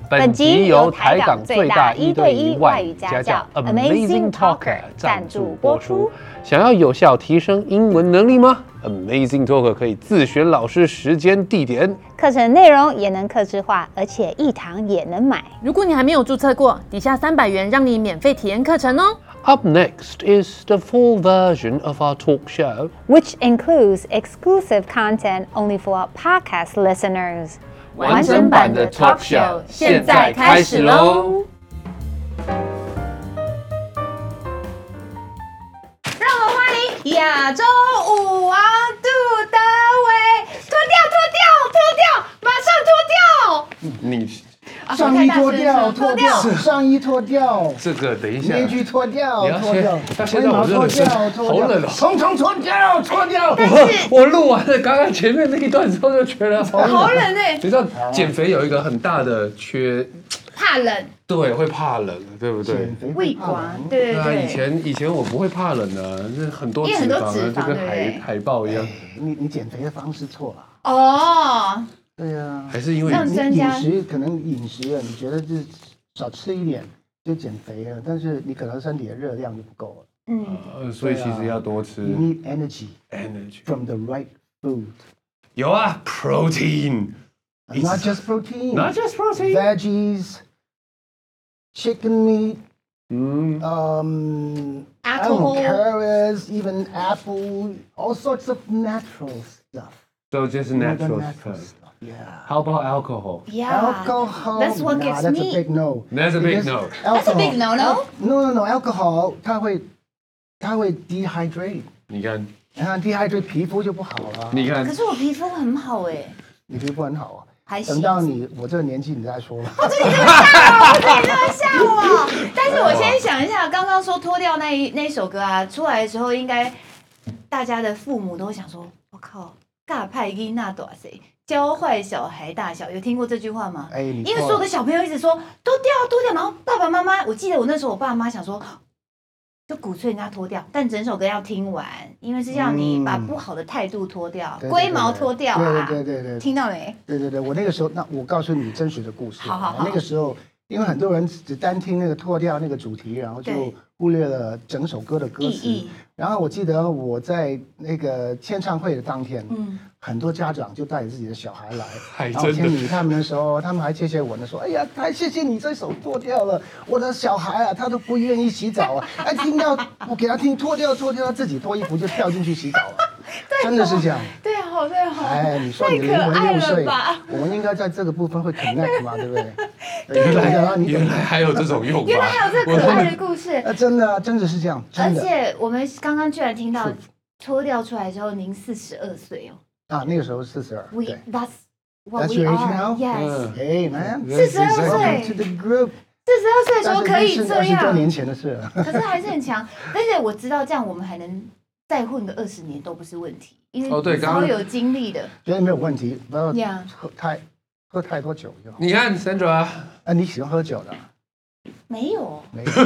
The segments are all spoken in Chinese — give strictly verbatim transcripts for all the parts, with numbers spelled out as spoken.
本集由台港最大一對一外語家教 Amazing Talker 贊助播出。想要有效提升英文能力嗎 ？Amazing Talker 可以自選老師、時間、地點， 課程內容也能客製化，而且一堂也能買。 如果你還沒有註冊過，底下三百元讓你免費體驗課程哦。 Up next is the full version of our talk show, which includes exclusive content only for our podcast listeners. 完整版的 talk show 現在開始嘍！ 讓我們歡迎亞洲舞王杜德偉，脫掉，脫掉，脫掉，馬上脫掉！ 你。 上衣脫掉，脫掉，上衣脫掉， 這個等一下， 面具脫掉，脫掉， 現在我熱了身，好冷哦！ 統統脫掉，脫掉。 我我錄完了剛剛前面那一段之後就覺得好冷， 好冷哎！ 你知道減肥有一個很大的缺， 怕冷。 對，會怕冷，對不對？ 胃管，對對對。 以前以前我不會怕冷的，那很多脂肪，就跟海海豹一樣。 你你減肥的方式錯了。 哦。 對啊， 還是因為你飲食可能飲食了，你覺得就是少吃一點就減肥了，但是你可能身體的熱量就不夠了。 嗯， 呃，所以其實要多吃。 You need energy, energy from the right food. 有啊 ，protein. Not just protein. Not just protein. Veggies, chicken meat. 嗯 Um, alcohol, carrots, even apple, all sorts of natural stuff. So just natural stuff. Yeah. How about alcohol? Yeah. Alcohol. That's what nah, gets that's me. a big no. That's a big no. That's a big no, no. No, no, no. Alcohol, 它會，它會 dehydrate. 你看， 啊 ，dehydrate 皮膚就不好了。 你看。 可是我皮膚很好哎。 你皮膚很好啊。 還行。 等到你我這個年紀，你再說吧。 哦，這你這麼嚇我，這你這麼嚇我。但是我先想一下，剛剛說脫掉那一那一首歌啊，出來的時候，應該大家的父母都會想說，我靠。尬派囡那多誰教壞小孩大小，有聽過這句話嗎？ 哎， 因為所有的小朋友一直說脫掉脫掉，然後爸爸媽媽，我記得我那時候我爸媽想說，就鼓吹人家脫掉，但整首歌要聽完，因為是要你把不好的態度脫掉，龜、嗯、毛脫掉啊！ 對對對對對， 聽到沒？ 對對對，我那個時候，那我告訴你真實的故事。 好好好。 那個時候，因為很多人只單聽那個脫掉那個主題，然後就忽略了整首歌的歌詞。然後我記得我在那個簽唱會的當天，嗯，很多家長就帶着自己的小孩來，然後簽名他們的時候，他們還謝謝我呢，說：“哎呀，太謝謝你這首脫掉了，我的小孩啊，他都不願意洗澡啊，哎，聽到我給他聽脫掉脫掉，他自己脫衣服就跳進去洗澡了，真的是這樣。”對啊，好對好。哎，你說你的靈魂六歲，我們應該在這個部分會 connect 嘛，對不對？ 原來原來還有這種用法， 原來還有這可愛的故事。 啊，真的，真的是這樣，真的。 而且我們剛剛居然聽到脫掉出來之後，您四十二歲哦。啊， 那個時候四十二。 We that's what That's we your age are. now? Yes. Hey man. 四十二歲。 To the group. 四十二歲的時候可以這樣。 二十多年前的事了。 可是還是很強，而且我知道這樣我們還能再混個二十年都不是問題，因為超有經歷的。 覺得沒有問題，不要喝太喝太多酒就好。 你看 Sandra 啊， 你喜歡喝酒的？ 沒有。 沒有。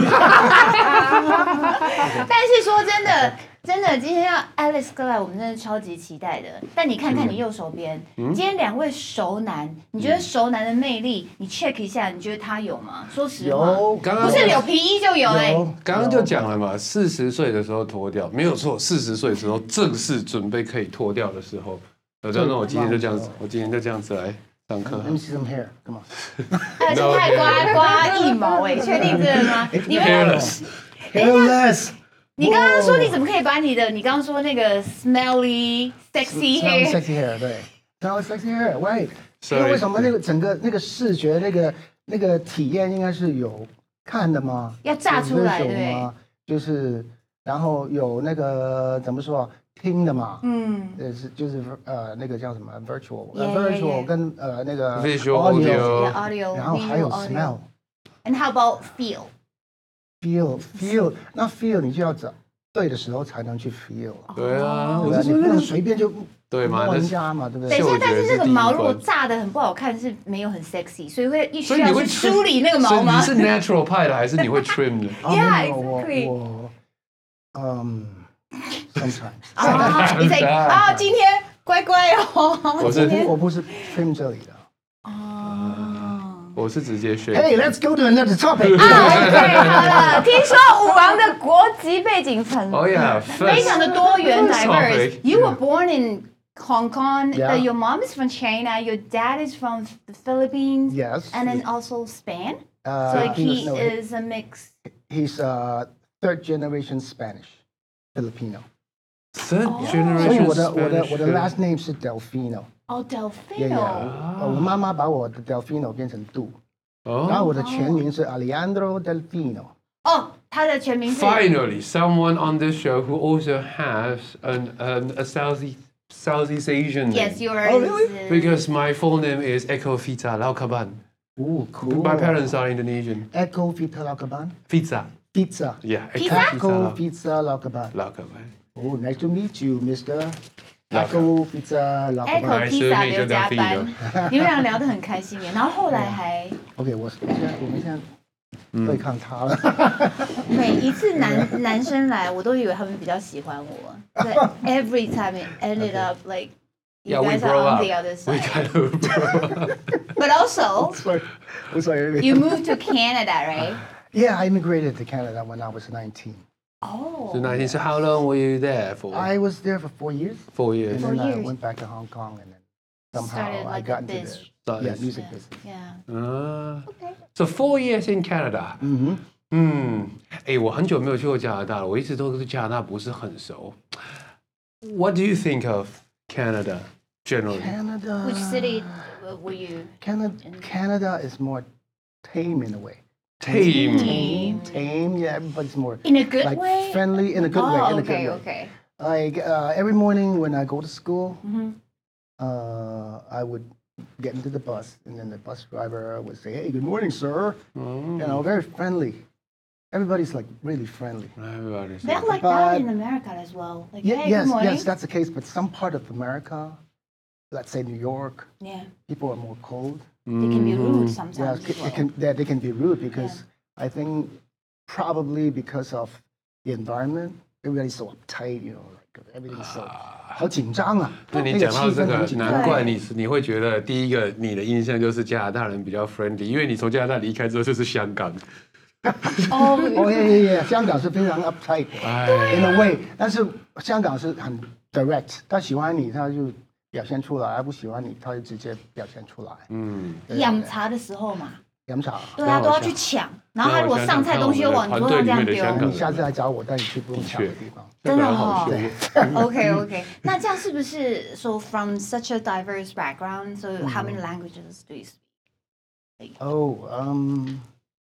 但是說真的。真的，今天要 Alex 哥來，我們真的超級期待的。但你看看你右手邊，嗯、今天兩位熟男，你覺得熟男的魅力，你 check 一下，你覺得他有嗎？說實話， 有， 剛剛不是有皮衣就有哎、欸。 剛剛就講了嘛，四十歲的時候脫掉，沒有錯，四十歲的時候正式準備可以脫掉的時候。有這樣，那我今天就這樣子，我今天就這樣子來上課。 Let me see some hair, come on。 而且太刮刮腋毛哎，確定這個嗎？你們 hairless。 你剛剛說你怎麼可以把你的，你剛剛說那個 smelly sexy hair sexy hair 對 smelly sexy hair right， 因為為什麼那個整個那個視覺那個那個體驗應該是有看的嗎？ 要炸出來對， 就是然後有那個怎麼說聽的嘛，嗯，是就是呃那個叫什麼 virtual virtual 跟呃那個 visual audio， 然後還有 smell，and how about feel？ feel feel 那 feel 你就要找對的時候才能去 feel。 對啊， 我你不能隨便就對嘛， 人家嘛，對不對？等一下，但是那個毛如果炸得很不好看，是沒有很 sexy， 所以會需要去梳理那個毛嗎？ 你是 natural 派的還是你會 trim 的 ？Yeah， exactly。我嗯 ，sometimes。 啊，你在啊，今天乖乖哦。 我是我不是 trim 這裡的。 哦。我我是直接選。 Hey, let's go to another topic. 啊 ，OK， 好了。听說武王的國籍背景很， 哦呀， 非常的多元 diverse. You were Yeah. born in Hong Kong. Yeah. Uh, your mom is from China. Your dad is from the Philippines. Yes. And then also Spain. Uh, So like he no, is a mix. He's uh, third generation Spanish, Filipino. Third 所以 generation 我的我的 Spanish 我的 last name 是 Delfino. Oh, Yeah, Delfino. yeah. 呃我妈媽把我的 Delfino 變成杜，然後 Oh, 我的全名是 Alejandro Delfino. 哦，他的全名是 finally, someone on this show who also has an, an a Southeast Southeast Asian name. Yes, yours. Oh, really? is- Because my full name is Eko Fita Laukaban. Ooh, cool. My parents are Indonesian. Echo Pizza Laukaban. Pizza. Pizza. Yeah. Pizza? Echo Pizza Laukaban. Laukaban. Oh, nice to meet you, Mister Echo Pizza Echo Laukaban. Pizza 刘家班，你们倆聊得很開心耶。然後後來還 OK，我現在我們現在對抗他了。 每一次男男生來，我都以為他們比較喜歡我。But every time it ended up like you Yeah, we guys grow are on up. the other We side. kind of grow up. But also, Sorry, I'm sorry. you moved to Canada, right? Yeah, I immigrated to Canada when I was nineteen. Oh. So nineteen. So how long were you there for? I was there for four years, Four years. and then Four I years. went back to Hong Kong, and then somehow Started I like got a into biz. the Started. yeah music business. Yeah. Ah. Okay. So four years in Canada. 嗯哼。 嗯，哎，我很久没有去过加拿大了，我一直都对加拿大不是很熟。What do you think of Canada generally? Canada. Which city were you? Canada. Canada is more tame in a way. Tame. Tame. Tame. Yeah, everybody's more In a good like way? friendly in a good way. Oh, In a okay, good way. okay. Like uh, every morning when I go to school, Mhm. uh, I would get into the bus, and then the bus driver would say, "Hey, good morning, sir." Oh, You know, very friendly. Everybody's like really friendly. everybody's They're like- like that But- in America as well. Like, Yeah, hey, yes, good morning. yes, that's the case. But some part of America, let's say New York, Yeah, people are more cold. they can be rude Yeah, sometimes. it, as well. it can, yeah, they can be rude because I think probably because of the environment, everybody's so uptight, you know, like everything's so 好緊張啊。 那你那个讲到这个气氛很，緊張。 难怪你是你会覺得第一個你的印象就是加拿大人比較 friendly，因為你從加拿大離開之後就是香港。 哦， 哦耶耶耶，香港是非常 uptight 的哎， in a way，但是香港是很 direct，他喜歡你他就表現出來，他不喜歡你他就直接表現出來。 嗯， 對飲茶的時候嘛， 飲茶。 對啊，都要去搶，然後他如果上菜東西又往你桌上這樣丟， 你下次來找我，帶你去不用搶的地方。 真的好哦凶。 OK OK，那這樣是不是 so from such a diverse background, so how many languages do you speak? Oh, um,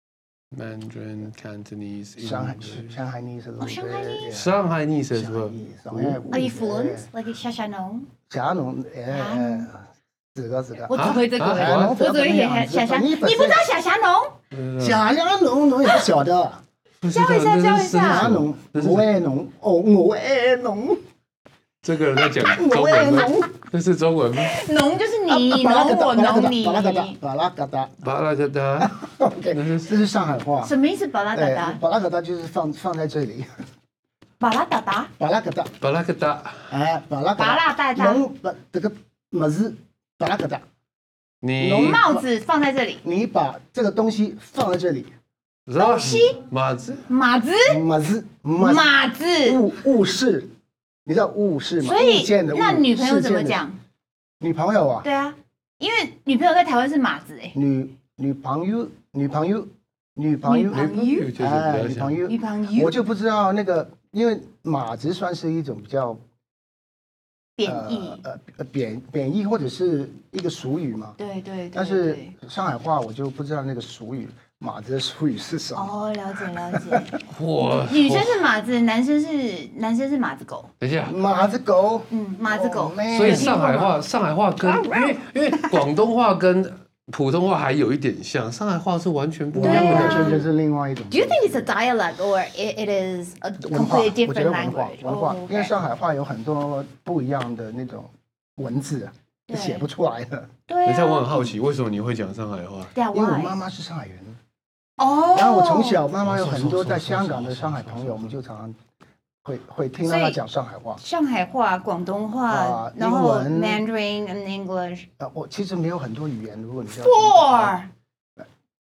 Mandarin, Cantonese, Shanghai, English. Shanghainese a little bit. Shanghainese? yeah. Shanghainese as well. Shanghainese, yeah. Are you fluent? Like 夏夏農？ 霞農，誒，四個四個。 我只會這個， 啊我只會夏夏夏。你不知道夏夏農？ 霞霞農，農也不曉得。 教一下，教一霞下。 農，我愛農，哦，我愛農。 這個人在講中文嗎？這是中文嗎？ 農就是你農我農你。 巴拉嘎達，巴拉嘎達， 巴拉嘎達。 OK，這是上海話。 什麼意思？巴拉達達？ 巴拉嘎達就是放放在這裡。 巴拉達達？ 巴拉嘎達， 巴拉嘎達。 哎，巴拉嘎達。 巴拉達達。 農把這個帽子，巴拉嘎達。 你農帽子放在這裡。 你把這個東西放在這裡。 東西？ 馬子？ 馬子？ 馬子？ 馬子？ 物物事，你知道物事嗎？ 所以物件的物， 那女朋友怎麼事件的講？ 女朋友啊？ 對啊，因為女朋友在台灣是馬子哎。 女女朋友，女朋友，女朋友， 女朋友就是比哎， 較像女朋友， 女朋友我就不知道那個，因為馬子算是一種比較貶義， 呃呃貶貶義或者是一個俗語嘛。 對對對。 但是上海話我就不知道那個俗語，馬子的俗語是什麼。 哦，了解了解。 我女生是馬子，男生是男生是馬子狗。 等一下， 馬子狗， 嗯，馬子狗。 所以上海話，上海話跟因為因為廣東話跟普通話還有一點像，上海話是完全不一樣的。 完全就是另外一種。 Do you think it's a dialect or it it is a 文化， completely 我覺 different 得文化 language？ 文化，因為 Okay 上海話有很多不一樣的那種文字， 對寫不出來的。 對等一下，我很啊。 好奇，為什麼你會講上海話？ 對啊， 因為我 why？ 媽媽是上海人， 哦。 然後我從小媽媽有很多在香港的上海朋友，我們就常常會會聽到她講上海話。 上海話、廣東話啊， 然後英文 Mandarin and English。 呃，我其實沒有很多語言，如果你要 Four。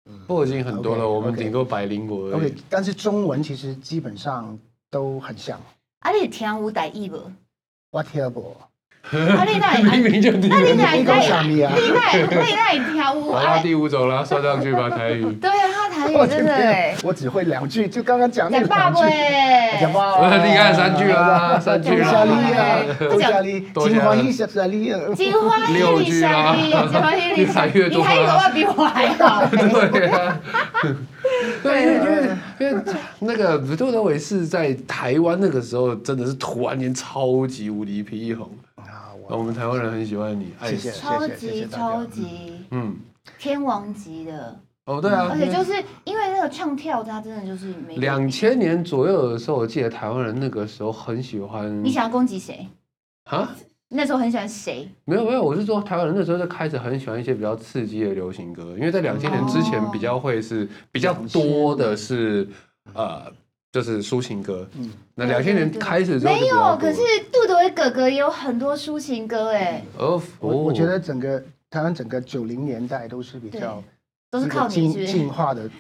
都已經很多了， okay, 我們頂多百靈果而已。 OK， 但是中文其實基本上都很像。 啊，你聽有台語無？ 我聽無。 啊，你哪？ 明明就聽。 那你哪？ 你講啥咪啊？ 你哪？你哪聽有？ 好啦，第五種了，算上去吧，台語。 對啊，他台語真的哎。 我只會兩句，就剛剛講那兩句。 講爸喂。 講爸。 厲害，三句啦，三句啦。 多謝你，金花一謝謝你。 金花一六句啦， 金花一越來越多。 你台語比我還好。 對啊。對，因為因為因為那個杜德偉是在台灣那個時候真的是突然間超級無敵霹靂紅啊！我們台灣人很喜歡你， 謝謝， 超級超級，嗯，天王級的哦，對啊， 而且就是因為那個唱跳，它真的就是兩千年左右的時候，我記得台灣人那個時候很喜歡。 你想要攻擊誰啊？那時候很喜歡誰？沒有沒有，我是說台灣人那時候就開始很喜歡一些比較刺激的流行歌，因為在兩千年之前比較會是比較多的是呃就是抒情歌，嗯，那兩千年開始之後沒有，可是杜德偉哥哥也有很多抒情歌哎。 哦，我我覺得整個台灣整個九零年代都是比較都是靠你是進化的。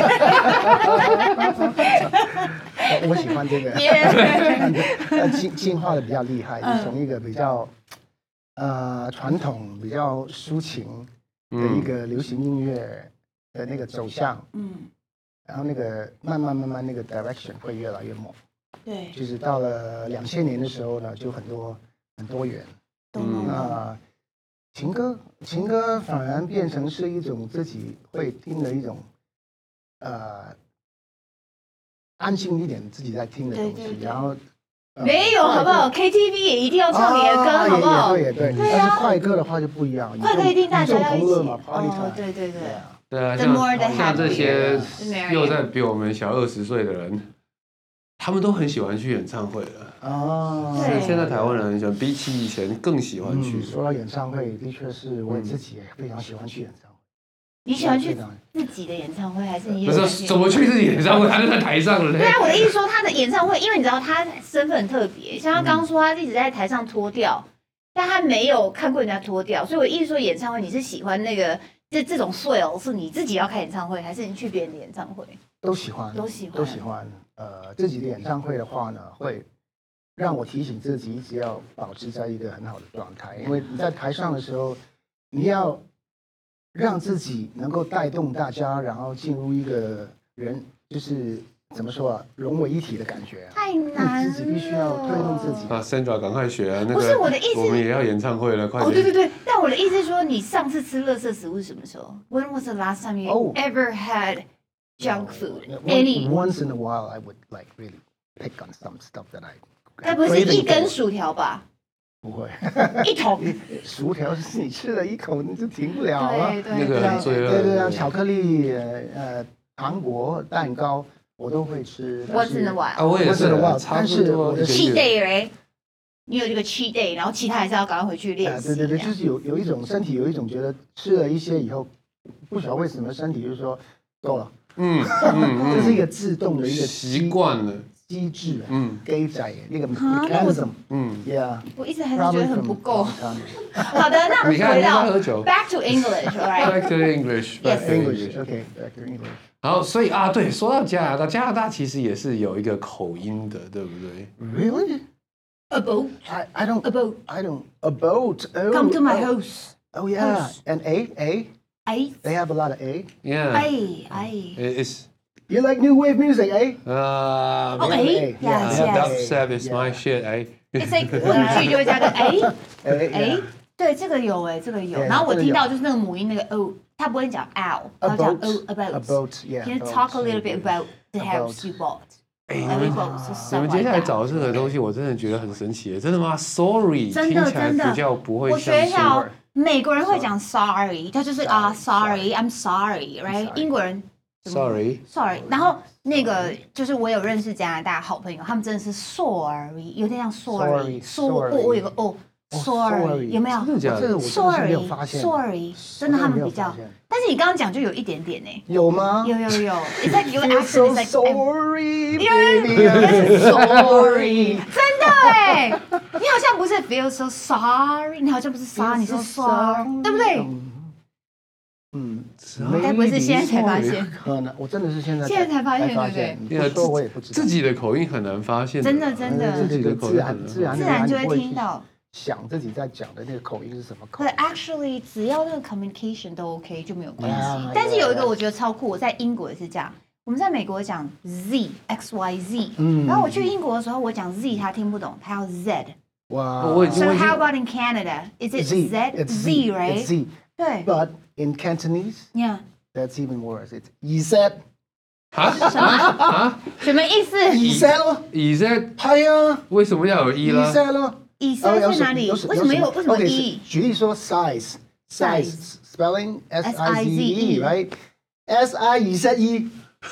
我喜歡這個，進進化的比較厲害，就從一個比較呃傳統、比較抒情的一個流行音樂的那個走向，嗯，然後那個慢慢慢慢那個 direction 會越來越猛， 對， 就是到了兩千年的時候呢，就很多很多元，嗯，那情歌情歌反而變成是一種自己會聽的一種呃。安靜一點，自己在聽的東西，對對對，然後、呃、 沒有好不好 ？K T V 也一定要唱你的歌，啊、好不好？ 也對也對，但是快歌的話就不一樣， 快歌一定大家要一起。 哦， 對對對， 對啊，像像這些又在比我們小二十歲的人，他們都很喜歡去演唱會了。哦，現在台灣人很喜歡，比起以前更喜歡去。 嗯、說到演唱會，的確是我自己也非常喜歡去演唱會。 你喜歡去自己的演唱會，還是你？ 不是怎麼去自己演唱會？他就在台上了。 對啊，我的意思說他的演唱會，因為你知道他身份很特別，像他剛剛說他一直在台上脫掉，但他沒有看過人家脫掉，所以我意思說演唱會你是喜歡那個這這種 thrill 是你自己要開演唱會，還是你去別人的演唱會？ 都喜歡， 都喜歡， 都喜歡。呃，自己的演唱會的話呢，會讓我提醒自己一直要保持在一個很好的狀態，因為你在台上的時候，你要。讓自己能夠帶動大家，然後進入一個人，就是怎麼說啊，融為一體的感覺、啊。太難了，自己必須要推動自己。 啊 ，Sandra， 趕快學啊！那個、 不是我的意思， 我們也要演唱會了，快點。 哦，對對對，但我的意思是說，你上次吃垃圾食物是什麼時候 ？When was the last time you oh. ever had junk food? Any? Once in a while, I would like really pick on some stuff that I. 該不是一根薯條吧？ 不會， 一桶薯條是你吃了一口你就停不了了。 對對那個很罪惡。 對對啊，巧克力、呃糖果、蛋糕我都會吃。 Once in a while。 啊，我也是。 但是我的 cheat day 嘞，你有這個 cheat day，然後其他還是要趕快回去練習。 對對對，就是有有一種身體有一種覺得吃了一些以後，不曉得為什麼身體就是說夠了。嗯嗯，這是一個自動的一個習慣了。 機制，嗯，機制那個 mechanism，嗯 ，yeah， 我一直還是覺得很不夠。好的，那我們回到 back to English，alright？Back to English，Yes English，OK，Back to English。 然後，所以啊，對，說到加拿大，加拿大其實也是有一個口音的，對不對 ？Really？A boat？I I don't. A boat. I don't. A boat. Come to my house. Oh yeah. And A A. A. They have a lot of A. Yeah. A A. It's. You like new wave music, eh? Uh, oh, A? Yes, yes. Dubstep is my shit, eh? It's like 文句就會加個 A, A. 對，這個有哎，這個有。然後我聽到就是那個母音那個 O，他不會講 ow， 他講 O about. About, yeah. Can you talk a little bit about the house you bought? 哎，你們你們接下來找這個東西，我真的覺得很神奇。真的嗎 ？Sorry，聽起來比較不會像。 我學校美國人會講 sorry，他就是啊 sorry，I'm sorry，right？ 英國人。 Sorry, sorry， 然後那個就是我有認識加拿大好朋友，他們真的是 sorry， 有點像 sorry， 說我我有個哦 sorry， 有沒有？ 真的假的 ？Sorry，sorry， 真的他們比較，但是你剛剛講就有一點點呢。 有嗎？ 有有有 ，It's like your accent is like sorry， sorry， 真的哎，你好像不是 feel so sorry， 你好像不是 sorry， 你是 sorry， 對不對？ 嗯， 該不會是現在才發現？ 可能我真的是現在現在才發現，對不對？ 你不說我也不知道。 自己的口音很難發現， 真的真的， 自己的口音很自然自然就會聽到。 想自己在講的那個口音是什麼口音？ 對 ，actually 只要那個 communication 都 OK 就沒有關係。但是有一個我覺得超酷，我在英國也是這樣。我們在美國講 Z X Y Z， 嗯，然後我去英國的時候，我講 Z 他聽不懂，他要 Z。 哇 ！So how about in Canada? Is it Z? Z, right? It's Z. 對。 But in Cantonese, yeah, that's even worse. It's Z. 啊？什麼啊？ 什麼意思 ？Z 咯 ？Z？ 係啊。 為什麼要有 E 啦 ？Z 咯。 以塞在哪裡？為什麼有？為什麼 E？ 舉例說 size, size spelling S I Z E, right? S I 以塞 E。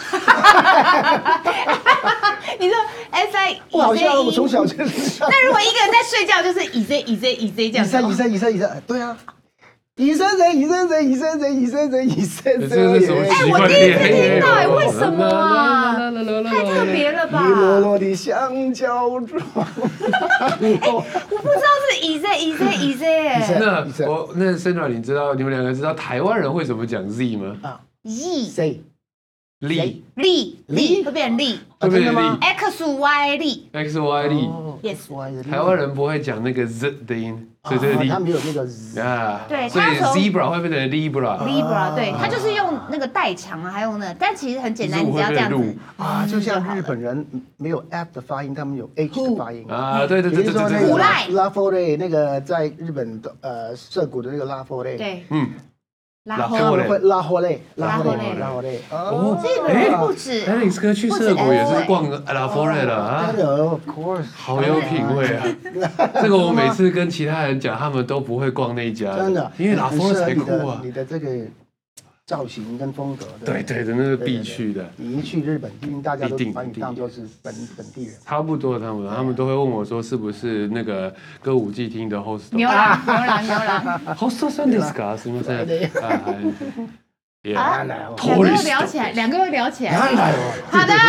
你說 S I 不好笑，我從小就是那如果一個人在睡覺，就是以塞以塞以塞這樣。 以塞以塞以塞以塞，對啊。以塞誰？以塞誰？以塞誰？以塞誰？以塞誰？ 這是什麼？ 哎，我第一次聽到，哎，為什麼啊？太特別了吧！ 你落落的香蕉狀。 我不知道是以塞以塞以塞哎。 那我那 Sandra， 你知道你們兩個知道台灣人會怎麼講 Z 嗎？ 啊 ，Z。 力力力會變成力， 會變成力 ，X Y 力 ，X Y 力 ，Yes。 台灣人不會講那個 Z 的音，所以這個力， 他沒有那個 Z 啊， 對， 所以 Zebra 會變成 Libra，Libra， 對，他就是用那個代償啊，還有呢，但其實很簡單，你只要這樣子啊，就像日本人沒有 F 的發音，他們有 H 的發音啊，對對對對對對， 虎賴拉佛雷那個在日本的呃澀谷的那個拉佛雷， 對， 嗯。 拉霍雷，拉霍雷，拉霍雷，拉霍雷。 哦， 這個人不止 Alex 哥去澀谷也是逛拉霍雷的啊。 Of course， 好有品味啊！這個我每次跟其他人講，他們都不會逛那一家， 真的， 因為拉霍雷才酷啊。 你的這個造型跟風格， 對對的，那是必去的。 你一去日本，畢竟大家都把你當作是本本地人。 差不多，他們他們都會問我說，是不是那個歌舞伎町的 host？ 牛郎牛郎牛郎 host 算ですか？是不是？ 啊，兩個又聊起來，兩個又聊起來。好的，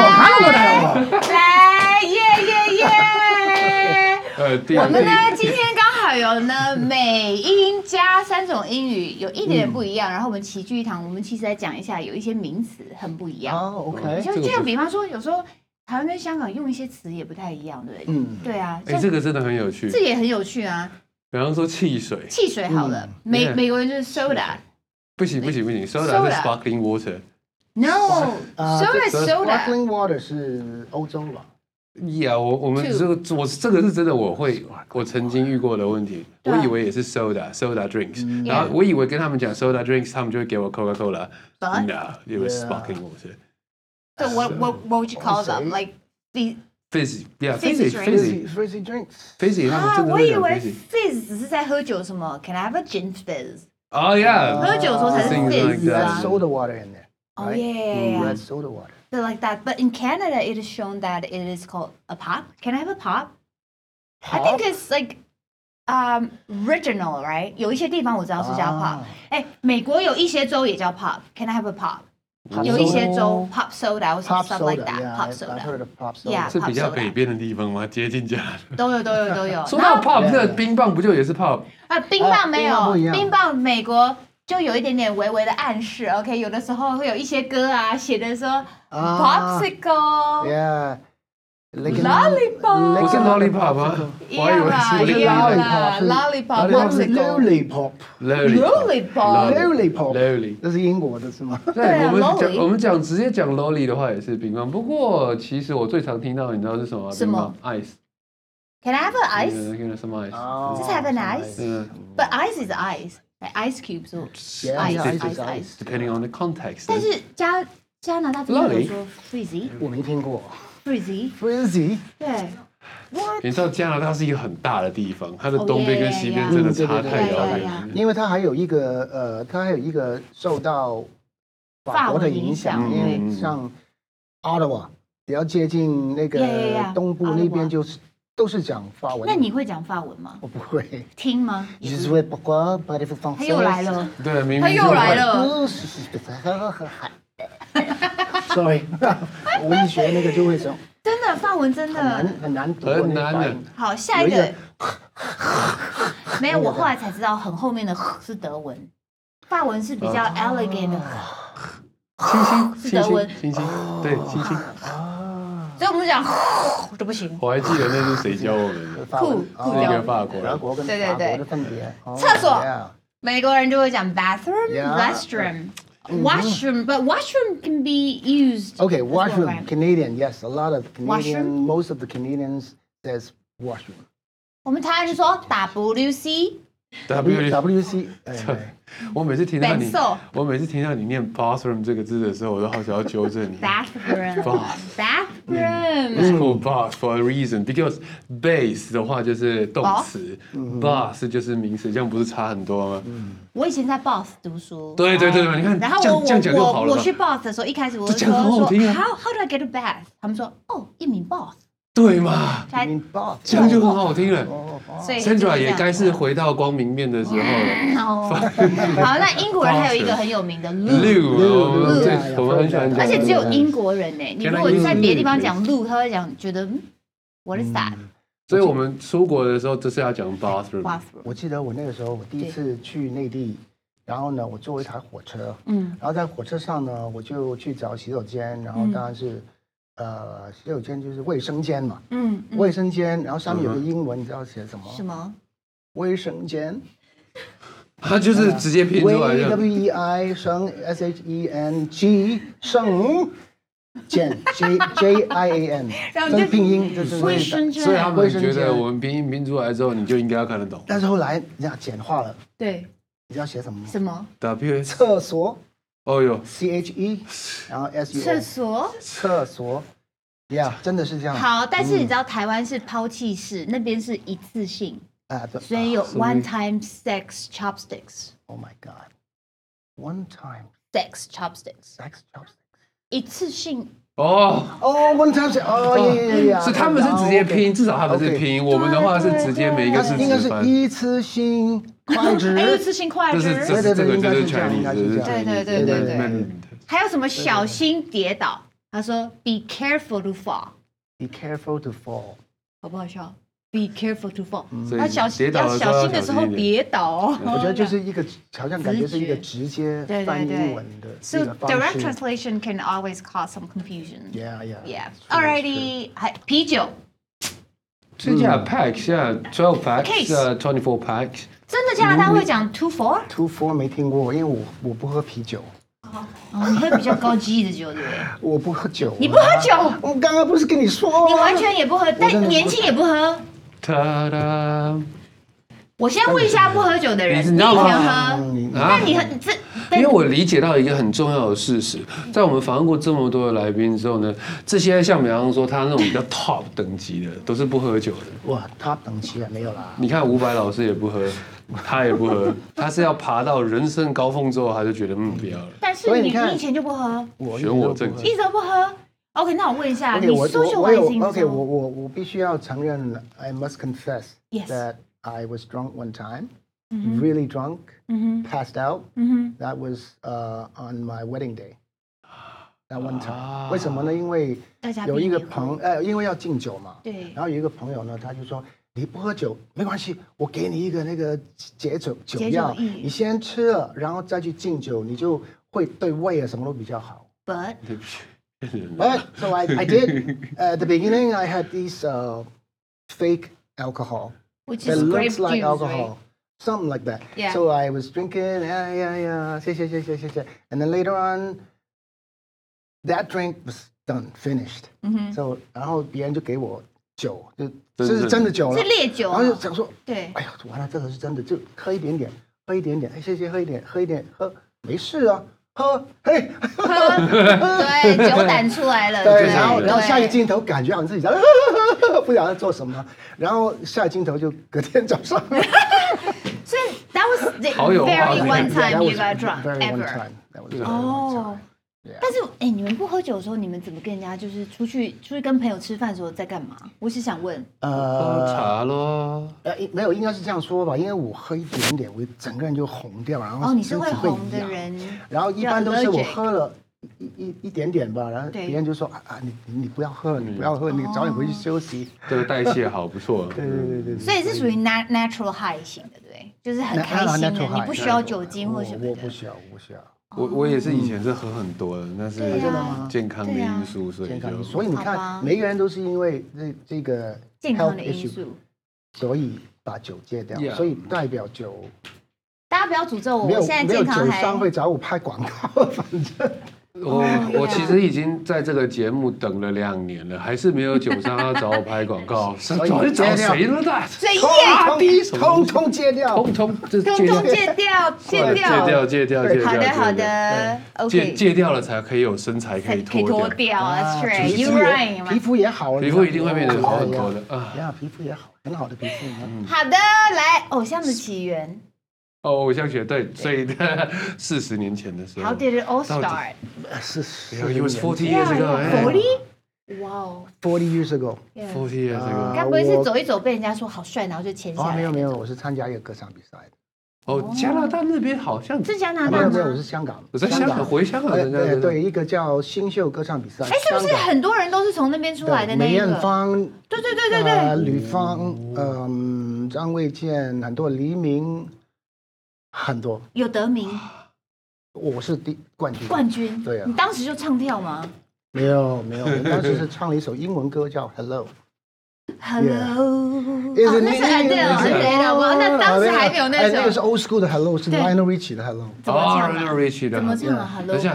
來耶耶耶！我們呢，今天剛好有呢美英加三種英語，有一點點不一樣。然後我們齊聚一堂，我們其實來講一下，有一些名詞很不一樣。 哦 ，OK。 就就像比方說，有時候台灣跟香港用一些詞也不太一樣，對不對？嗯，對啊。 哎，這個真的很有趣。 這也很有趣啊。 比方說汽水。 汽水好了，美美國人就是 soda。 不行不行不行 ，soda 是 sparkling water。No，soda soda。Sparkling water 是歐洲吧？ 呀，我我們這個我這個是真的，我會我曾經遇過的問題，我以為也是 soda soda drinks，然後我以為跟他們講 soda drinks，他們就會給我 Coca Cola。No，it was sparkling water。 So what what what would you call them? Like the fizzy，yeah，fizzy fizzy fizzy drinks。 fizzy， 啊，我以為 fizz 只是在喝酒，什麼 Can I have a gin fizz？ Oh yeah， 喝酒的時候才是 fizz。 Soda water in there。 Oh yeah， red soda water。 So like that, but in Canada, it is shown that it is called a pop. Can I have a pop? pop? I think it's like um regional, right? 有一些地方我知道是叫 pop。哎，美國有一些州也叫 pop. Can I have a pop? 有一些州 pop soda 或 stuff like that. Pop soda. Yeah， 是比較北邊的地方嗎？接近加拿大都有都有都有。 說到 pop， 這冰棒不就也是 pop？ 啊，冰棒沒有，冰棒美國。就有一點點微微的暗示 ，OK， 有的時候會有一些歌啊，寫的說 popsicle，yeah，lollipop， 不是 lollipop 嗎？ 一樣啦，一樣啦 ，lollipop，lollipop，lollipop，lollipop， 這是英國的是嗎？ 對，我們講我們講直接講 lolly 的話也是冰棒，不過其實我最常聽到，你知道是什麼？ 什麼 ？Ice。Can I have an ice? Can I have some ice? Just have an ice. But ice is ice. Like ice cubes or ice, ice, ice, ice. Depending on the context. 但是加加拿大这邊有說 frizzy， 我沒聽過 frizzy frizzy。 對， 你知道加拿大是一個很大的地方，它的東邊跟西邊真的差太遙遠了。 因為它還有一個呃，它還有一個受到法國的影響，因為像 Ottawa 比較接近那個東部那邊就是。都是講法文。 那你會講法文嗎？ 我不會。 聽嗎？ 他又來了。 對，明明他又來了。 Sorry， 我一學那個就會說。 真的，法文真的很難讀， 很難的。 好，下一個。沒有，我後來才知道，很後面的是德文。 法文是比較 elegant 的。 星星， 是德文， 星星，對，星星。 啊，所以我們講就不行。 我還記得那是誰教我們的？ 酷酷是一個法國人。 德國跟法國的分別。 廁所，美國人就會講 bathroom、restroom。Washroom, but washroom can be used. Okay, washroom. Canadian, yes, a lot of Canadian. Most of the Canadians says washroom. 我們台灣就說 W C。 W W C。 我每次聽到你，我每次聽到你念 bathroom 這個字的時候，我都好想要糾正你。 Bathroom. Bathroom. It's called bath for a reason because base 的話就是動詞 ，bath 就是名詞，這樣不是差很多嗎？ 我以前在 Bath 讀書。 對對對，你看， 然後我我我去 Bath 的時候，一開始我就說說 How how do I get a bath？ 他們說哦，一名 bath。對嘛？這樣就很好聽了。所以 Sandra 也該是回到光明面的時候了。 好，那英國人還有一個很有名的 loo， 對，我們很喜歡講。 而且只有英國人呢，你如果在別的地方講 loo，他會講覺得 What is that？ 所以我們出國的時候就是要講 bathroom。 我記得我那個時候，我第一次去內地，然後呢，我坐一台火車，嗯，然後在火車上呢，我就去找洗手間，然後當然是。呃，洗手間就是衛生間嘛，嗯，衛生間，然後上面有個英文，你知道寫什麼？什麼？衛生間。 它就是直接拼出來的。 W E I 生 S H E N G 生間 J J I A N， 这是拼音，就是衛生间。 所以他們覺得我們拼音拼出來之後，你就應該要看得懂。 但是後來人家簡化了， 對， 你知道寫什麼嗎？ 什麼 ？W 廁所。 哦喲 ，C H E， 然後 S U。 廁所， 廁所 ，Yeah， 真的是這樣。 好，但是你知道台灣是拋棄式，那邊是一次性啊，所以有 one time sex chopsticks。Oh my god，one time sex chopsticks，sex chopsticks， 一次性。 哦哦 ，one time sex， 哦耶耶， 是他們是直接拼，至少他們是拼，我們的話是直接每一個字應該是一次性。筷子， 一次性筷子， 这是这个就是 Chinese， 对对对对对。還有什麼小心跌倒？他說 Be careful to fall。 Be careful to fall， 好不好笑 ？Be careful to fall。他小心要小心的時候跌倒哦。 我覺得就是一個好像感覺是一個直接翻英文的。 So direct translation can always cause some confusion. Yeah, yeah. Yeah. Alrighty， 還啤酒。 現在 pack 現在 twelve packs， 現在 twenty four packs。 真的加拿大會講 two four？ two four 沒聽過，因為我我不喝啤酒。 哦，你喝比較高級的酒，對不對？ 我不喝酒。 你不喝酒？ 我剛剛不是跟你說？ 你完全也不喝，但年輕也不喝。 噠噠。 我先問一下不喝酒的人，你以前喝？那你很這。 因為我理解到一個很重要的事實，在我們訪問過這麼多的來賓之後呢，這些像比方說他那種比較 top 等級的，都是不喝酒的。 哇 ，top 等級啊，沒有啦。 你看伍佰老師也不喝，他也不喝，他是要爬到人生高峰之後，他就覺得嗯不要了。 但是你你以前就不喝， 選我正經， 一直都不喝。OK， 那我問一下，你 socializing 的時候，我我我必須要承認 ，I must confess that I was drunk one time. Mm-hmm. Really drunk, mm-hmm. passed out. Mm-hmm. That was uh, on my wedding day. That one time. 啊、為什麼呢？因為有一個朋呃，因為要敬酒嘛。對。然後有一個朋友呢，他就說：“你不喝酒沒關係，我給你一個那個解酒酒藥，你先吃了，然後再去敬酒，你就會對胃啊什麼都比較好。” But. But so I I did. At the beginning, I had these uh, fake alcohol. Which is grape looks like juice, alcohol. Right? Something like that. Yeah. So I was drinking, yeah, yeah, yeah, 謝謝謝謝謝謝 and then later on, that drink was done, finished. Mm-hmm. So 然後別人就給我酒，就這是真的酒了， 是烈酒。 然後就想說， 對， 哎呀，完了，這個是真的，就喝一點點，喝一點點，哎，謝謝，喝一點，喝一點，喝，沒事啊，喝，嘿， 喝，對，酒膽出來了。 對，然後然後下一個鏡頭感覺好像自己在，不曉得在做什麼，然後下一個鏡頭就隔天早上。 所以 that was the very one time you got drunk ever. 哦，但是哎，你們不喝酒的時候，你們怎麼跟人家就是出去出去跟朋友吃飯的時候在幹嘛？我是想問， 呃，喝茶咯。 呃，沒有，應該是這樣說吧，因為我喝一點點，我整個人就紅掉，然後哦，你是會紅的人， 然後一般都是我喝了一一一點點吧，然後別人就說啊啊，你你不要喝了，你不要喝，你早點回去休息。 這個代謝好不錯。 對對對對。 所以是屬於 natural high 型的，對不對？ 就是很開心的，你不需要酒精或什麼的。 我不需要，我不需要。 我我也是以前是喝很多的，那是健康的因素，所以就所以你看，每個人都是因為這這個健康的因素， 所以把酒戒掉，所以代表酒。 大家不要詛咒我，我現在健康還。沒有酒商會找我拍廣告，反正。 我我其實已經在這個節目等了兩年了，還是沒有酒商要找我拍廣告。找找誰呢？的？ 所以通通戒掉， 通通通通戒掉，戒掉， 戒掉，戒掉，戒掉。 好的，好的。 戒戒掉了才可以有身材可以脱掉。That's right, you right。皮膚也好， 皮膚一定會變得好很多的啊。 呀，皮膚也好，很好的皮膚。 好的，來，偶像的起源。 哦，偶像學對，所以四十年前的時候 ，How did it all start？ 是 ，It was forty years ago。Forty？ 哇哦 ，Forty years ago。Forty years ago。 該不會是走一走被人家說好帥，然後就簽下來？ 哦，沒有沒有，我是參加一個歌唱比賽的。 哦，加拿大那邊好像是加拿大嗎？ 沒有沒有，我是香港。 我在香港回香港參加對對，一個叫新秀歌唱比賽。 哎，是不是很多人都是從那邊出來的？ 梅艷芳， 對對對對對， 呂方，嗯，張衛健，很多黎明。很多有得名， 我是第冠軍。 冠軍， 對啊。 你當時就唱跳嗎？ 沒有沒有，我當時是唱了一首英文歌叫 Hello。Hello。 哦，那是 Adele，Adele。那當時還沒有那首。 那個是 old school 的 Hello， 是 Lionel Richie 的 Hello。 怎麼唱 ？Lionel Richie 的。 怎麼唱啊 ？Hello。 等一下。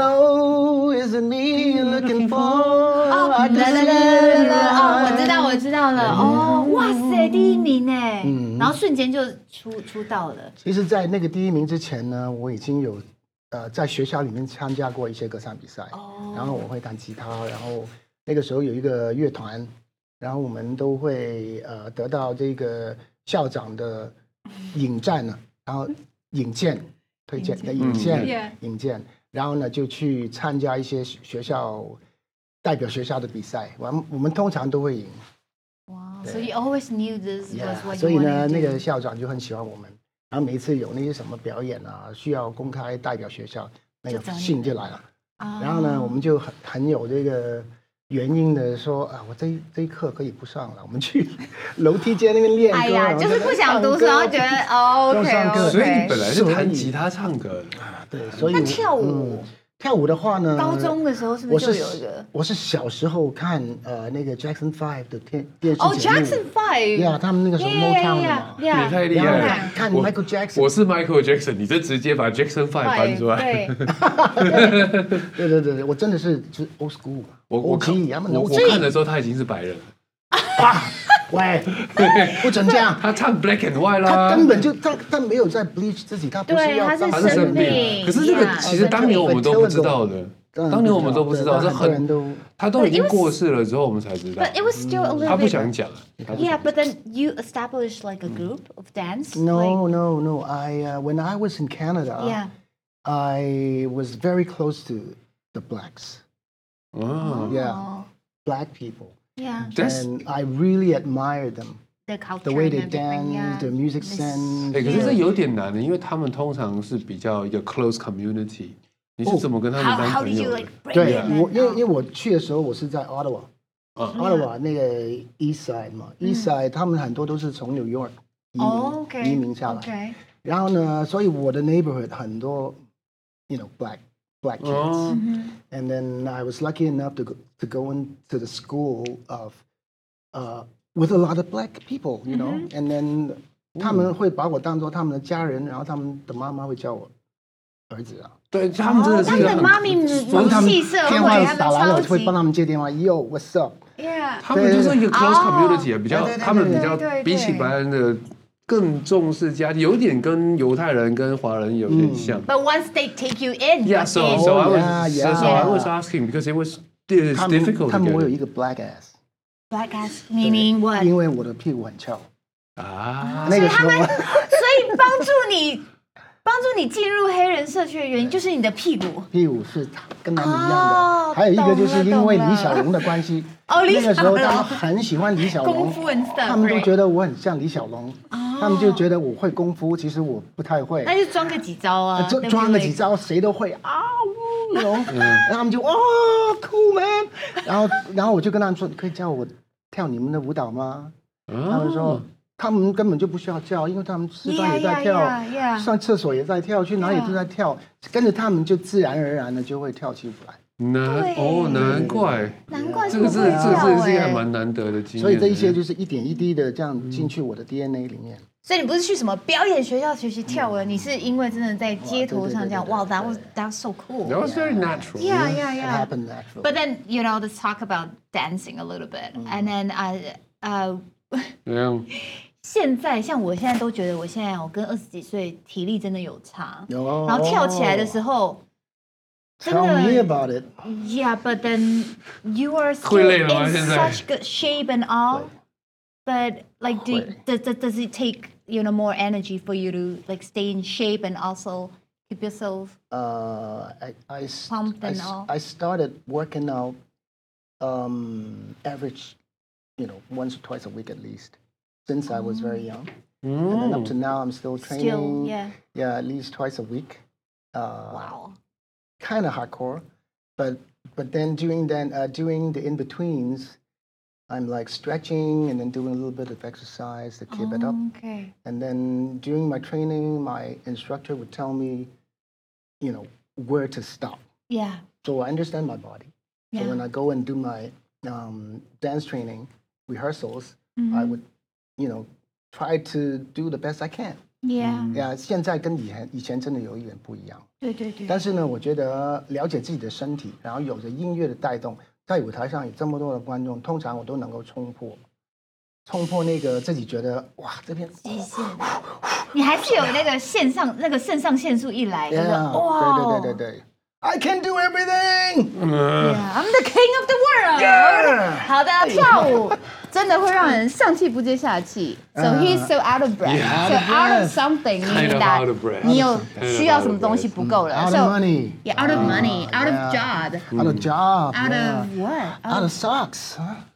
Hello, is it me you're looking for？ 哦，來來來來來，哦，我知道我知道了。哦，哇塞，第一名哎。嗯。然後瞬間就出出道了。 其實，在那個第一名之前呢，我已經有呃在學校裡面參加過一些歌唱比賽。哦。然後我會彈吉他，然後那個時候有一個樂團，然後我們都會呃得到這個校長的引薦呢，然後引薦推薦的引薦引薦，然後呢就去參加一些學校代表學校的比賽，我們我們通常都會贏。 哇，所以 always knew this was what you wanted to do。 所以呢，那個校長就很喜歡我們，然後每一次有那些什麼表演啊，需要公開代表學校，那個信就來了。然後呢，我們就很很有這個原因的說啊，我這一這一課可以不上了，我們去樓梯間那邊練歌。哎呀，就是不想讀書，然後覺得哦 OK。 所以你本來是彈吉他唱歌啊，對，所以那跳舞。 跳舞的話呢， 高中的時候是不是就有一個？ 我是小時候看呃那個 Jackson Five 的電電視節目。 哦 ，Jackson Five， 呀，他們那個時候 Motown 的嘛， 也太厲害了。 看 Michael Jackson， 我是 Michael Jackson， 你這直接把 Jackson Five 翻出來。 對對對對，我真的是就是 old school。 我我看我我看的時候他已經是白人了。 喂，不准這樣！ 他唱 Black and White 啦， 他根本就他他沒有在 bleach 自己，他不是要他是生病。 可是這個其實當年我們都不知道的，當年我們都不知道，是很他都已經過世了之後我們才知道。 But it was still a little bit. 他不想講。 Yeah, but then you established like a group of dance. No, no, no. I uh, when I was in Canada, yeah, I was very close to the blacks. Oh, yeah, black people. Yeah, and I really admire them. The culture, the way they dance, the music sense. 哎，可是這有點難的，因為他們通常是比較一個 close community。你是怎麼跟他們當朋友的？ 對，我因為因為我去的時候，我是在 Ottawa，Ottawa 那個 East Side 嘛 ，East Side 他們很多都是從 New York 移民移民下來。然後呢，所以我的 neighborhood 很多 ，you know black black kids. And then I was lucky enough to go, to go into the school of, uh, with a lot of black people, you know. Mm-hmm. And then 他們會把我當作他們的家人，然後他們的媽媽會叫我兒子啊。 對，他們真的是很， 他們的媽咪母系社會， 電話打來了，我會幫他們接電話。Yo, what's up? Yeah. 他們就是一個 close community 啊，比較他們比較比起白人的。更重視家庭，有點跟猶太人跟華人有點像。 But once they take you in, yeah, so so I was so I was asking because it was difficult. 他們我有一個 black ass. Black ass meaning what? 因為我的屁股很翹啊。 那個時候，所以幫助你幫助你進入黑人社區的原因就是你的屁股。 屁股是跟他們一樣的。還有一個就是因為李小龍的關係。 哦， 那個時候他們很喜歡李小龍，他們都覺得我很像李小龍。他們就覺得我會功夫，其實我不太會。 那就裝個幾招啊， 裝裝個幾招，誰都會啊嗚，然後他們就哦 cool man，然後然後我就跟他們說，你可以教我跳你們的舞蹈嗎？他們說他們根本就不需要叫，因為他們吃飯也在跳， yeah, yeah, yeah. 上廁所也在跳，去哪裡都在跳， yeah. 跟着他們就自然而然的就會跳起舞來。 難哦，難怪， 難怪這個是這個是一個還蠻難得的經驗。 所以這一些就是一點一滴的這樣進去我的 D N A 裡面。 所以你不是去什麼表演學校學習跳舞，你是因為真的在街頭上這樣，哇 ，that was that's so cool. That was very natural. Yeah, yeah, yeah. It happened naturally. But then you know, let's talk about dancing a little bit, and then uh uh. Yeah. 現在像我現在都覺得，我現在我跟二十幾歲體力真的有差， 有， 然後跳起來的時候，真的 Tell me about it. Yeah, but then you are still in such good shape and all. But like, do does does it take you know more energy for you to like stay in shape and also keep yourself uh, I I pumped and I, all? I started working out um, average, you know, once or twice a week at least. Since I was very young, mm. and then up to now, I'm still training. Still, yeah. Yeah, at least twice a week. Uh, wow. Kind of hardcore, but but then during then uh, during the in betweens, I'm like stretching and then doing a little bit of exercise to keep oh, it up. Okay. And then during my training, my instructor would tell me, you know, where to stop. Yeah. So I understand my body. Yeah. So when I go and do my um, dance training rehearsals, mm-hmm. I would. You know, try to do the best I can. Yeah. Yeah. 现在跟以前以前真的有一点不一样。 对对对。 但是呢，我觉得了解自己的身体，然後有着音樂的帶動，在舞台上有這麼多的觀眾，通常我都能夠衝破，衝破那個自己覺得哇這邊極限。你還是有那個線上那個腎上腺素一來，就是 Yeah, 哇。 對對對對對。I can do everything. Yeah, I'm the king of the world. Yeah. 好的，跳舞真的會讓人上氣不接下氣。So he's so out of breath. Yeah. So out of something meaning that 你有需要什麼東西不夠了。 Out of money. Yeah, out of money, out of job. Out of job. Out of what? Out of socks.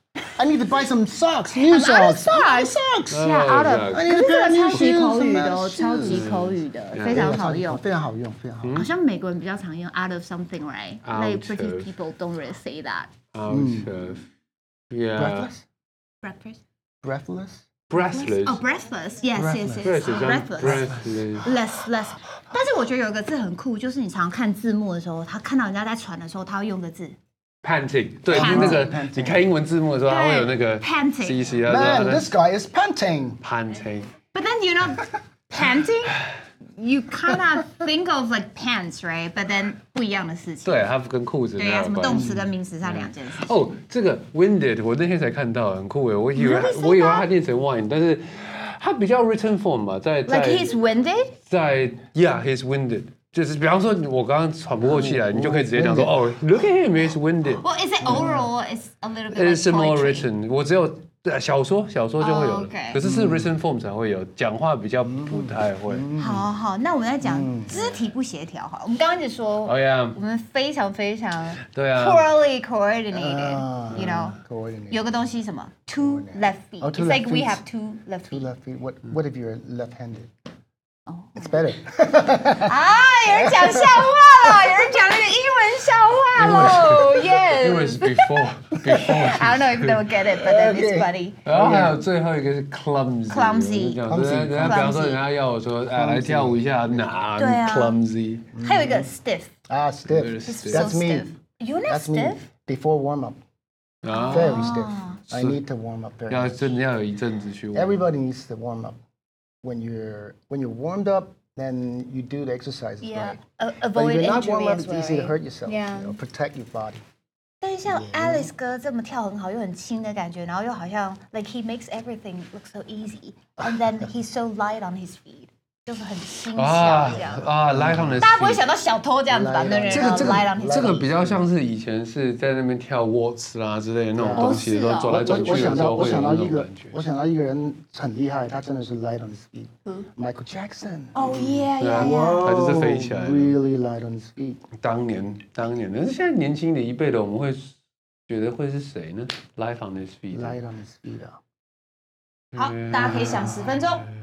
I need to buy some socks, new socks. Out of socks. Yeah, out of. 可是这个超級口語的哦， 是超級口語的，非常好用， 非常好用，非常好用。 好像美國人比較常用 out of something, right? Like British people don't really say that. Out of. Yeah. Breathless. Breathless. Breathless. Breathless. Oh, breathless. Yes, yes, yes. Breathless. Breathless. Less, less. 但是我覺得有一個字很酷，就是你常看字幕的時候，他看到人家在傳的時候，他會用個字。 Panting， 對，就是那個你看英文字幕的時候，它會有那個 panting。 Man, this guy is panting. Panting. But then you know, panting, you kind of think of like pants, right? But then 不一樣的事情。 對，它跟褲子。 對呀，什麼動詞跟名詞是兩件事情。 哦，這個 winded， 我那天才看到，很酷誒。我以為我以為它念成 wine， 但是它比較 written form 吧，在在。 Like he's winded. 在 Yeah, he's winded。就是比方說，我剛剛喘不過氣來，你就可以直接講說，哦 ，Look at him, he's winded. Well, is it oral? It's a little bit. It's more written. 我只有小說，小說就會有，可是是 written form 才會有，講話比較不太會。 好好，那我們在講肢體不協調哈。我們剛剛一直說，哦呀，我們非常非常對啊 poorly coordinated, you know. 有個東西什麼 two left feet. It's like we have two left feet. Two left feet. What What if you're left-handed? Oh, it's better. 啊，有人講笑話了，有人講那個英文笑話嘍 ，Yes. It was before, before. I don't know if they will get it, but then it's funny. 然後還有最後一個是 clumsy. Clumsy. 人家比方說，人家要我說，哎，來跳舞一下，哪 clumsy. 還有一個 stiff. 啊 stiff. That's me. You're not stiff. Before warm up. Very stiff. I need to warm up very. 要真的要有一陣子去。 Everybody needs to warm up. When you're when you're warmed up, then you do the exercises yeah. right. Uh, avoid but if you're not injury warmed up, as it's well, easy right? to hurt yourself. Yeah. You know, protect your body. 但是像 Alice 哥這麼跳很好，又很輕的感覺，然後又好像 like he makes everything look so easy, and then he's so light on his feet. 就是很輕巧這樣啊 ，light on the。 大家不會想到小偷這樣子吧？那人這個這個 light on his feet。 這個比較像是以前是在那邊跳 waltz 啦之類的那種東西，都走來走去的時候會有那種感覺。 我想到一個人很厲害，他真的是 light on his feet。Michael Jackson。 Oh yeah yeah yeah。 他就是飛起來。 Really light on his feet。 當年當年，但是現在年輕的一輩的，我們會覺得會是誰呢 ？Light on his feet。 Light on his feet 啊。 好，大家可以想十分鐘。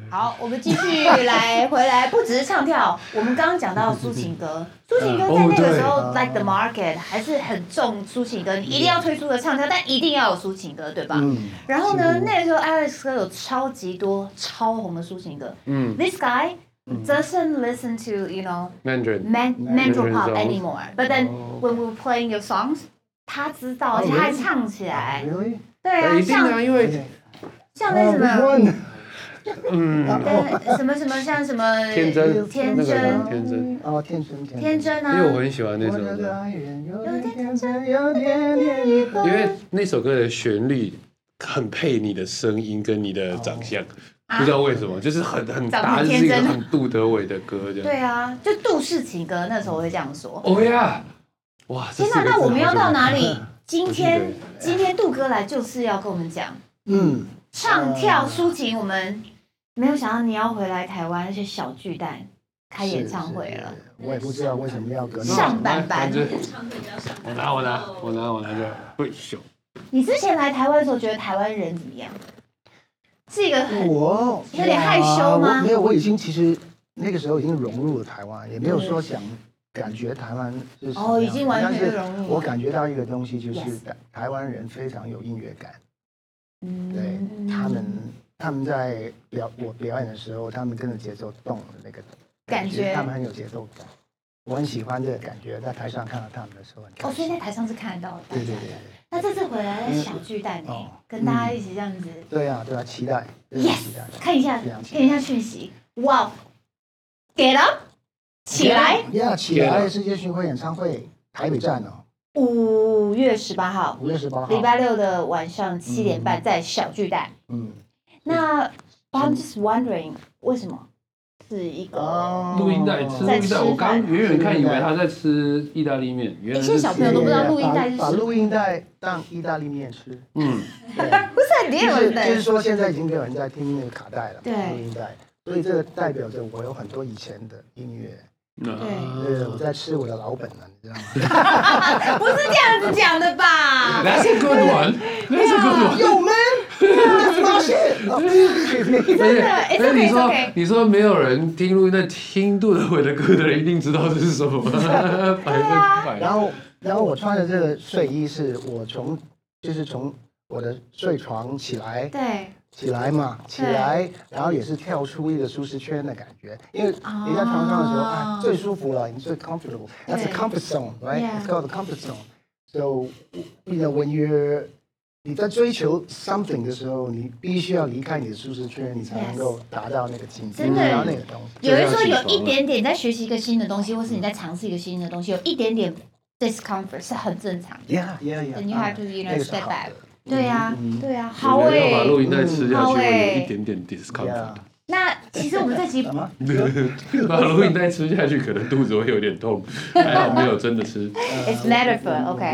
好，我們繼續來回來，不只是唱跳，我們剛剛講到抒情歌，抒情歌在那個時候 ，like the market 還是很重抒情歌，你一定要推出的唱跳，但一定要有抒情歌，對吧？嗯。然後呢，那個時候 Alex 哥有超級多超紅的抒情歌，嗯 ，This guy doesn't listen to you know Mandarin man Mandarin pop anymore, but then when we were playing your songs， 他知道，而且他還唱起來，對啊，像因為像那什麼。 嗯， 什麼什麼像什麼天真天真天真哦天真天真啊， 因為我很喜歡那首歌，因為那首歌的旋律很配你的聲音跟你的長相，不知道為什麼，就是很很搭，是一個很杜德偉的歌這樣。 對啊，就杜氏情歌，那時候我會這樣說。 哦呀，哇！ 天哪，那我們要到哪裡？今天今天杜哥來就是要跟我們講，嗯。唱跳抒情，我們沒有想到你要回來台灣，而且小巨蛋開演唱會了。 我也不知道為什麼要隔上班班。 我拿我拿我拿我拿就會秀。 你之前來台灣的時候，覺得台灣人怎麼樣？是一個很我有點害羞嗎？ 沒有，我已經其實那個時候已經融入了台灣，也沒有說想感覺台灣是什麼樣。 哦，已經完全融入。 我感覺到一個東西，就是台灣人非常有音樂感。對，他們他們在表我表演的時候，他們跟着節奏動的那個感覺， 他們很有節奏感，我很喜歡這個感覺。在台上看到他們的時候很開心。 哦，所以在台上是看得到的。 對對對。 那這次回來在小巨蛋呢，跟大家一起這樣子。 對啊對啊，期待。 Yes， 看一下看一下訊息，哇 ，Get up， 起來。 Yeah， 起來！世界巡迴演唱會台北站哦。 五月十八號， 五月十八號， 禮拜六的晚上七點半在小巨蛋。嗯，那 I'm just wondering， 為什麼是一個錄音帶吃錄音帶？我剛遠遠看以為他在吃意大利麵，原來現在小朋友都不知道錄音帶是什麼。 把錄音帶當意大利麵吃。嗯， 不是很厲害。 就是說現在已經沒有人在聽那個卡帶了， 對， 錄音帶，所以這個代表着我有很多以前的音樂。對，對，我在吃我的老本呢，你知道嗎？ 不是這樣子講的吧 ？That's a good one. That's a good one. Yo man, that's my shit. 真的， 所以你說你說沒有人聽錄音帶聽杜德偉的歌的人一定知道這是什麼。百分百。 然後然後我穿的這個睡衣是我從就是從我的睡床起來。 對。 起來嘛，起來，然後也是跳出一個舒適圈的感覺，因為你在床上的時候，啊，最舒服了，你最 comfortable。That's a comfort zone, right? It's called a comfort zone. So, you know, when you're 你在追求 something 的時候，你必須要離開你的舒適圈，你才能夠達到那個境界，達到那個東西。 有人說有一點點在學習一個新的東西，或是你在嘗試一個新的東西，有一點點 discomfort 是很正常的。 Yeah, yeah, yeah. And you have to, you know, step back. 對呀，對呀，好誒。 要把錄音帶吃下去，會有一點點 discomfort。 那其實我們這集把錄音帶吃下去，可能肚子會有點痛，還好沒有真的吃。 It's metaphor,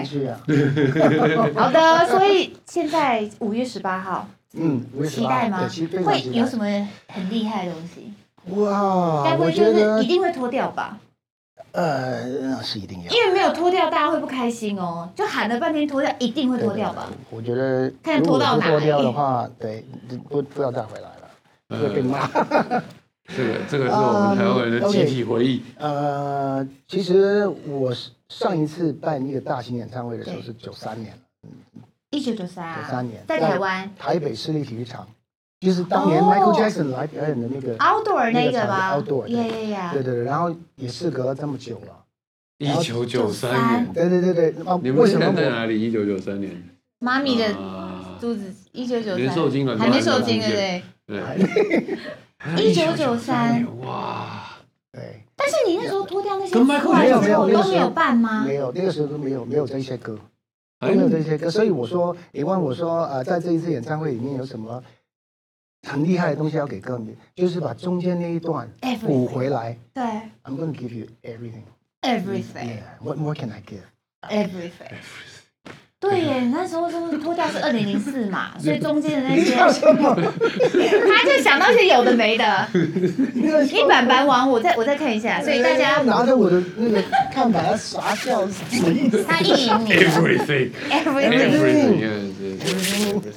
OK。好的，所以現在五月十八號，嗯，期待嗎？會有什麼很厲害的東西？哇，該不會就是一定會脫掉吧？ 呃，那是一定要， 因為沒有脫掉，大家會不開心哦。就喊了半天脫掉，一定會脫掉吧？ 我覺得， 看脫到哪裡。 脫掉的話，對，不不要再回來了，會被罵。 這個這個是我們台灣人的集體回憶。 呃，其實我上一次辦一個大型演唱會的時候是九三年， 一九九三， 九三年， 在台灣台北市立體育場。就是當年 Michael Jackson 來表演的那個 outdoor 那個嗎 ？outdoor， yeah yeah yeah， 對對對，然後也事隔了這麼久了， 一九九三年， 對對對對， 你們現在在哪裡？一九九三年， 媽咪的肚子，一九九三， 連受精卵還沒受精，對不對？對，一九九三， 哇， 對。 但是你那時候脫掉那些， 跟 Michael 沒有沒有都沒有辦嗎？ 沒有，那個時候都沒有沒有這些歌，都沒有這些歌，所以我說，你問我說，呃，在這一次演唱會裡面有什麼很厲害的東西要給歌迷，就是把中間那一段補回來。對 ，I'm going to give you everything. Everything. Yeah. What more can I give? Everything. 對耶，那時候说脫掉是二零零四嘛，所以中間的那些，他就想到一些有的沒的。一板板王，我再我再看一下，所以大家拿着我的那個看板傻笑，什麼意思？ 他意淫你。 Everything. Everything. Everything.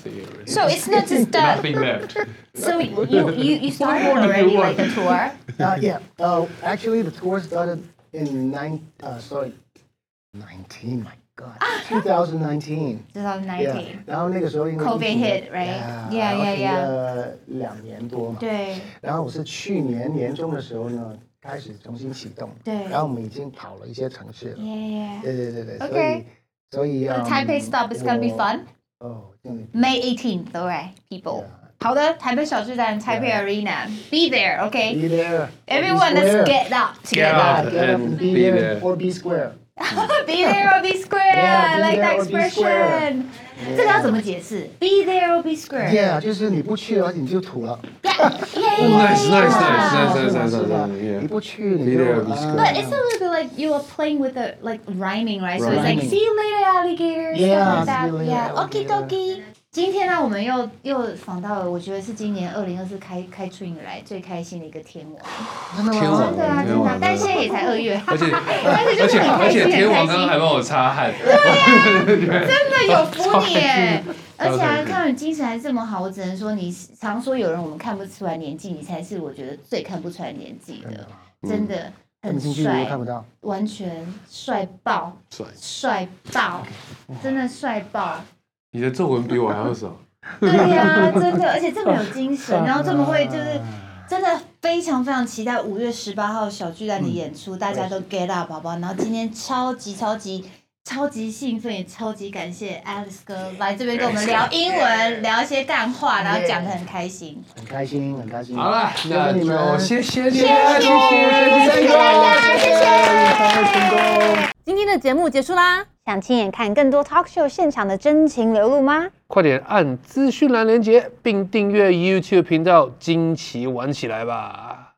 So it's not just uh, nothing left. So you you you started already like the tour? Uh, yeah. Uh, actually, the tour started in nine. Uh, sorry, nineteen. My God, twenty nineteen. twenty nineteen. 然后那個時候因為 COVID hit, right? Yeah, yeah, yeah. 呃，兩年多嘛。 對。 然後我是去年年中的時候呢，開始重新啟動。 對。 然後我們已經跑了一些城市了。 Yeah. 對對對對。 Okay. 所以，所以。 The Taipei stop is gonna be fun. Oh, May eighteenth, alright, people. 好的，台北小巨蛋 Taipei Arena. Be there, okay? Be there. Everyone, let's get up together. Get up and be there or be square. Be there or be square. Yeah, I like that expression. 這個要怎麼解釋 ？Be there or be square. Yeah， 就是你不去的話，你就土了。 Yeah, yeah, Nice, nice, nice, nice, nice, nice, nice. nice. 你不去，你 Be 就 there or be square. But it's a little bit like you are playing with the like rhyming, right? So it's like see you later, alligator. Yeah, stuff like that. see you later, Yeah, okie alligator. dokie. 今天呢，我們又又訪到了，我覺得是今年二零二四開開春以來最開心的一個天王。 真的嗎？ 天王真的啊，真的啊，但現在也才二月， 而且但是就是很開心， 而且天王很開心。 剛剛還幫我擦汗。 對呀，真的有服你耶！而且啊，看到你精神還這麼好，我只能說你常說有人我們看不出來年紀，你才是我覺得最看不出來年紀的，真的很帥， 看不到， 完全帥爆， 帥帥爆，真的帥爆。 你的皺紋比我還要少。 對呀、啊，真的，而且這麼有精神，然後這麼會，就是真的非常非常期待五月十八號小巨蛋的演出，大家都 get up 寶寶。然後今天超級超級超級興奮，也超級感謝 Alex 哥來這邊跟我們聊英文，聊一些幹話，然後講得很開心， 很開心，很開心。 好了，那就謝謝你， 謝謝，謝謝大家，謝謝。 成功。 今天的節目結束啦。 想親眼看更多 talk show 現場的真情流露嗎？ 快點按資訊欄連結，並訂閱 YouTube 頻道，驚奇玩起來吧！